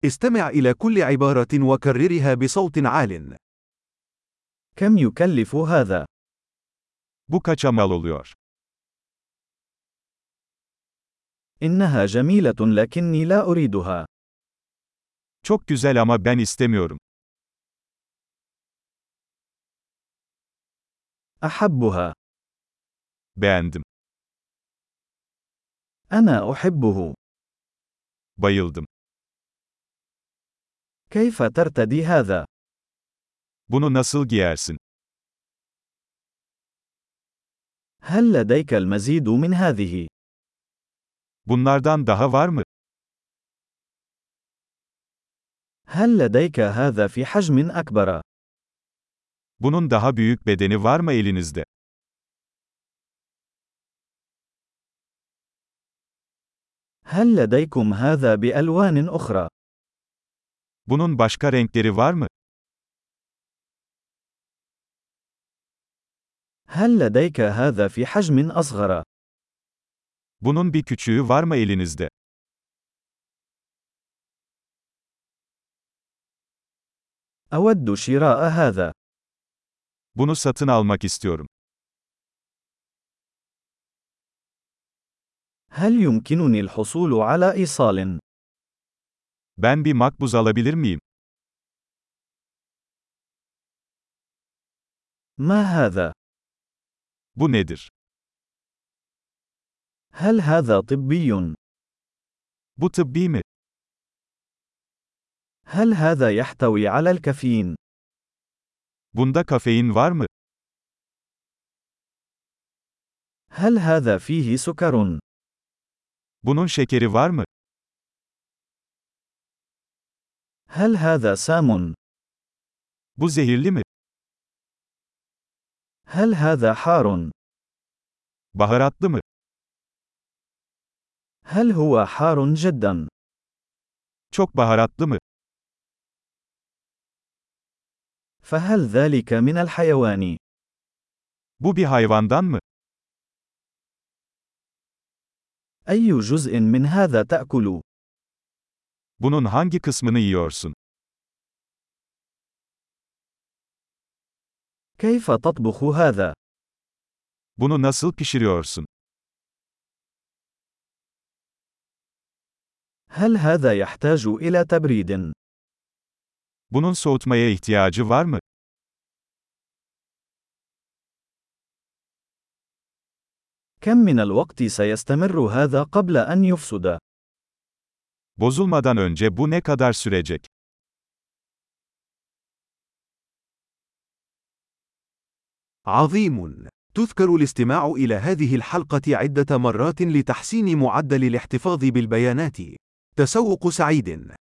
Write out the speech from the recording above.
استمع إلى كل عبارة وكررها بصوت عال. كم يكلف هذا؟ Bu kaça mal oluyor? إنها جميلة لكني لا أريدها. Çok güzel ama ben istemiyorum. أحبها. Beğendim. أنا أحبه. Bayıldım. كيف ترتدي هذا؟ Bunu nasıl giyersin? هل لديك المزيد من هذه؟ Bunlardan daha var mı? هل لديك هذا في حجم أكبر؟ Bunun daha büyük bedeni var mı elinizde? هل لديكم هذا بألوان أخرى؟ Bunun başka renkleri var mı? هل لديك هذا في حجم أصغر؟ Bunun bir küçüğü var mı elinizde? أود شراء هذا. Bunu satın almak istiyorum. هل يمكنني الحصول على إيصال؟ Ben bir makbuz alabilir miyim? ما هذا؟ Bu nedir? هل هذا طبي؟ Bu tıbbi mi? هل هذا يحتوي على الكافيين؟ Bunda kafein var mı? هل هذا فيه سكر؟ Bunun şekeri var mı? هل هذا سام؟ Bu zehirli mi? هل هذا حار؟ Baharatlı mı? هل هو حار جدا؟ Çok baharatlı mı? فهل ذلك من الحيوان؟ Bu bir hayvandan mı? أي جزء من هذا تأكل؟ Bunun hangi kısmını yiyorsun? كيف تطبخ هذا؟ Bunu nasıl pişiriyorsun? هل هذا يحتاج إلى تبريد؟ Bunun soğutmaya ihtiyacı var mı? كم من الوقت سيستمر هذا قبل أن يفسد؟ Bozulmadan önce bu ne kadar sürecek? عظيم. تذكر الاستماع إلى هذه الحلقة عدة مرات لتحسين معدل الاحتفاظ بالبيانات. تسوق سعيد.